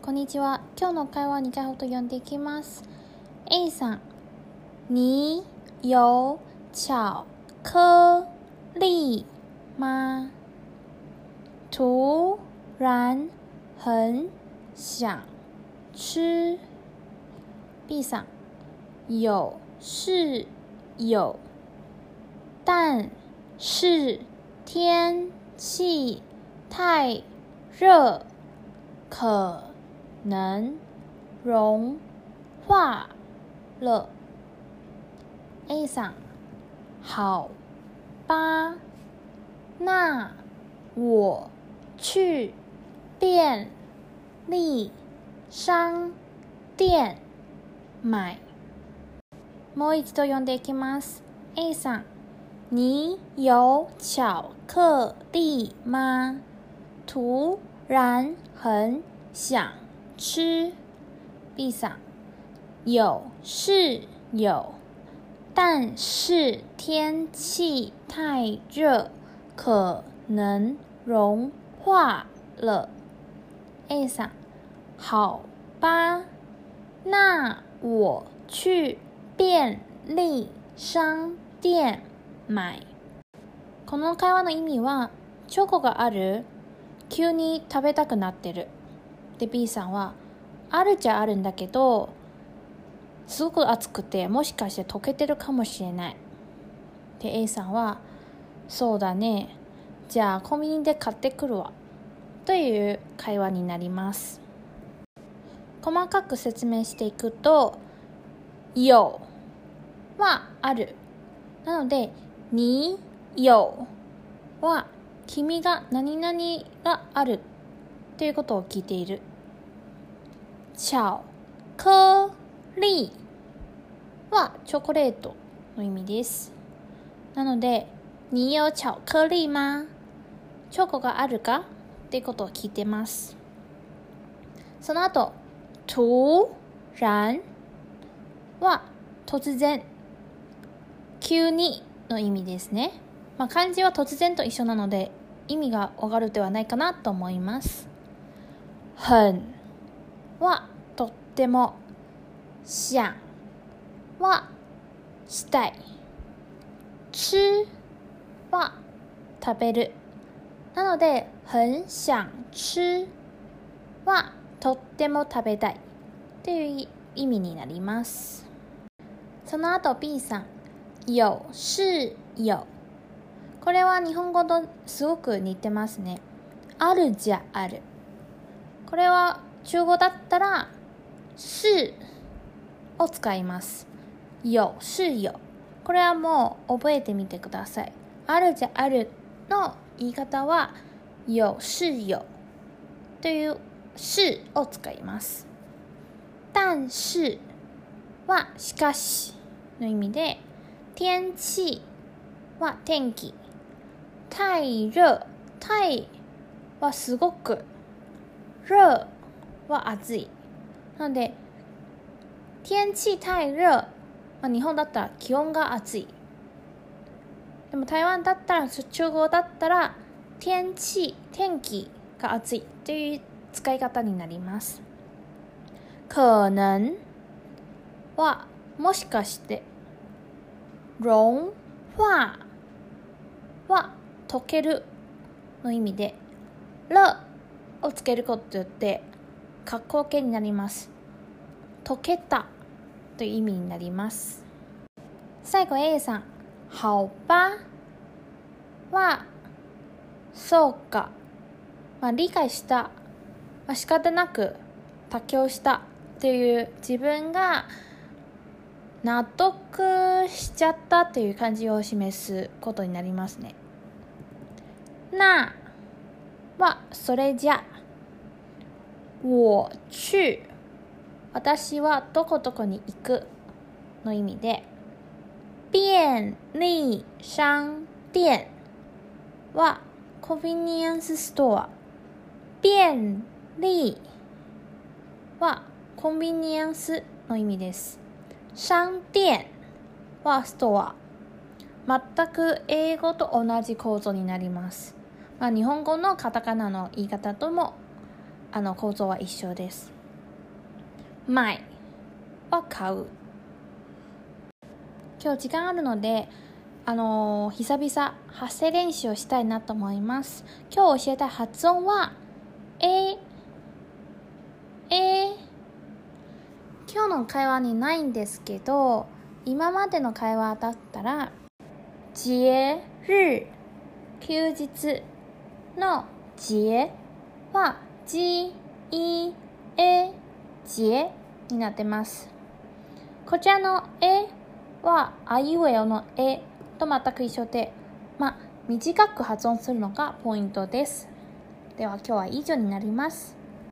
こんにちは。今日の会話2回ほど読んでいきます。A さん、你有巧克力吗？突然很想吃。B さん、有是有，但是天气太热，可能融化了。A さん、好吧，那我去便利商店买。もう一度読んでいきます。A さん、你有巧克力吗？突然很想吃。B さん、有是有，但是天气太热，可能融化了。A さん、好吧，那我去便利商店買。この会話の意味は、チョコがある？急に食べたくなってる。で、B さんは、あるっちゃあるんだけど、すごく熱くて、もしかして溶けてるかもしれない。で、A さんは、そうだね。じゃあコンビニで買ってくるわ。という会話になります。細かく説明していくと、有はある。なので、你有は君が何々があるということを聞いている。巧克力はチョコレートの意味です。なので、你有巧克力吗？チョコがあるかっていうことを聞いてます。その後、突然は突然、急にの意味ですね。漢字は突然と一緒なので意味がわかるではないかなと思います。很はとっても、想はしたい、吃は食べる。なので、很想吃はとっても食べたいという意味になります。その後 B さん、有是有。これは日本語とすごく似てますね。あるじゃある。これは中語だったら是を使います。有是有。これはもう覚えてみてください。あるじゃあるの言い方は有是有という是を使います。但是はしかしの意味で、天気は天気、太熱、太はすごく、熱は暑い。なので、天気太熱、日本だったら気温が暑い。でも台湾だったら、中国だったら天気が暑いという使い方になります。可能はもしかして、融化は溶けるの意味で、了をつけることによって過去形になります。溶けたという意味になります。最後 A さん、好吧はそうか、理解した、仕方なく妥協したという自分が納得しちゃったという感じを示すことになりますね。那はそれじゃ、我去私はどこどこに行くの意味で、便利商店はコンビニエンスストア、便利はコンビニエンスの意味です。商店はストア。全く英語と同じ構造になります。日本語のカタカナの言い方とも構造は一緒です。 買いは買う。今日時間あるので、久々発声練習をしたいなと思います。今日教えたい発音は今日の会話にないんですけど、今までの会話だったら節日、休日の節はじいえ節になってます。こちらのはあいうえおのと全く一緒で、短く発音するのがポイントです。では今日は以上になります。